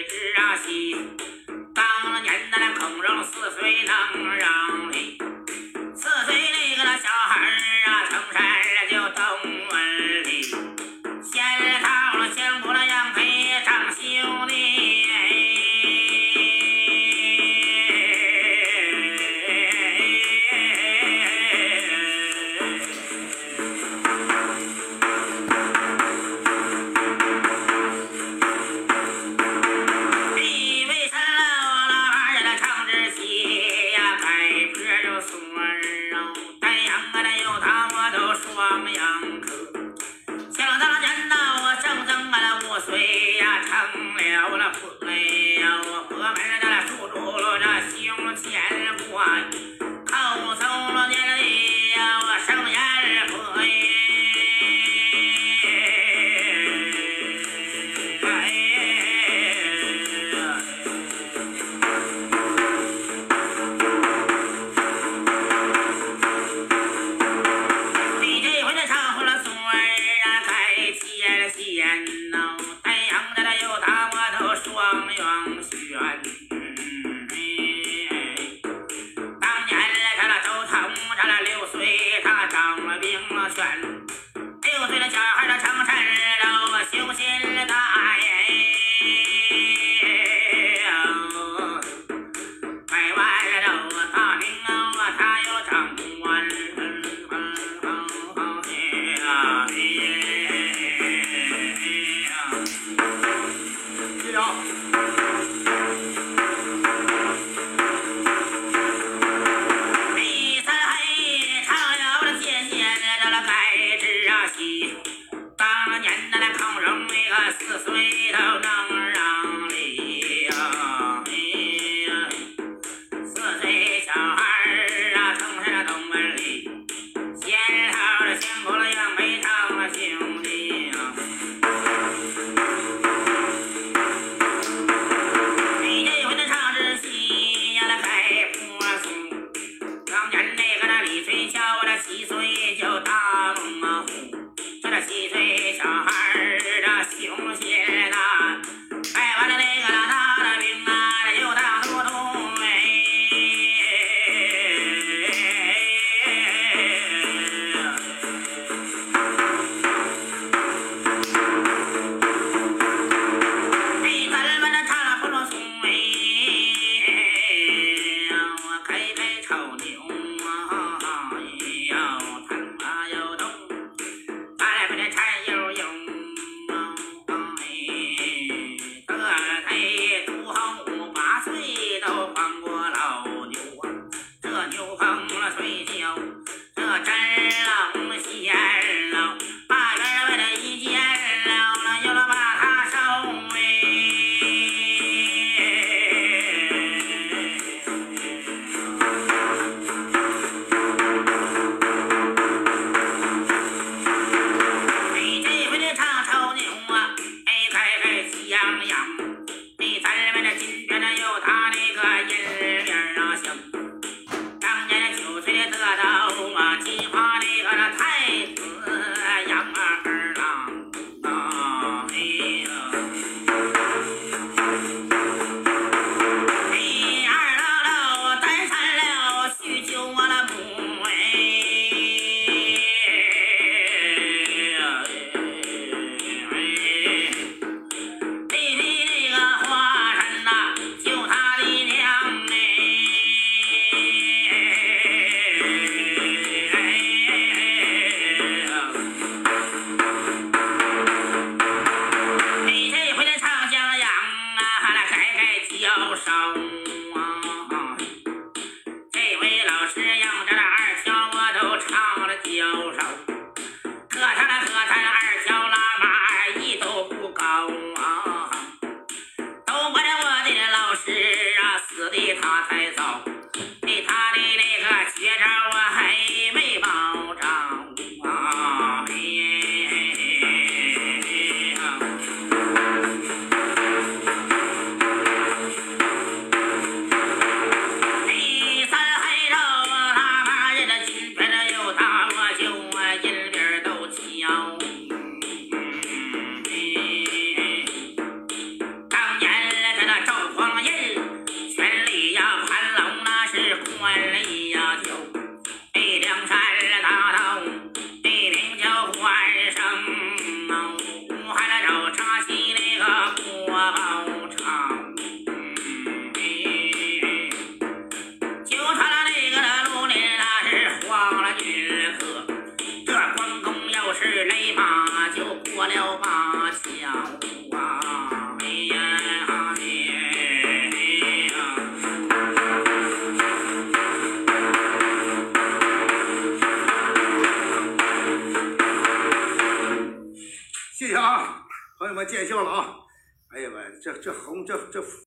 知啊戏。当年的那孔融4岁能让梨，4岁那个那小孩啊，成身就懂文理，先靠了相国了杨培长兄弟。双阳科，想当年呐，我整整5岁呀，成了那婆呀，我婆门的住住了这胸前挂，后走了年里呀，我生眼婆6岁的小孩的成身了，修心大爷，百万的大名啊，他有长官。当年的那孔融那个4岁都能让梨呀，4岁小孩啊，成身懂文理，先靠着相国了杨培长了兄弟啊。你这回的唱支戏呀，那开破松。当年那个那李春孝啊，那7岁就打龙啊虎。这7岁小孩儿胸胁大，拜完了那个大的兵啊，又大都督咱们的唱了不落松我开炒牛啊，又动。柴油用得忒朱后8岁都放过老牛啊，这牛棚了睡觉，这真冷闲了，把人为了一见了，有了把他收咱们这金边有他那个银铃啊响，当年9岁得到金花那个太子杨二郎啊，二郎了单山了许久我了母教授啊，这位老师让这2条我都唱了教授，可他2条拉马一都不高啊，都怪我的老师啊，死的他才早，对他的那个绝招啊还没保障啊。 这红这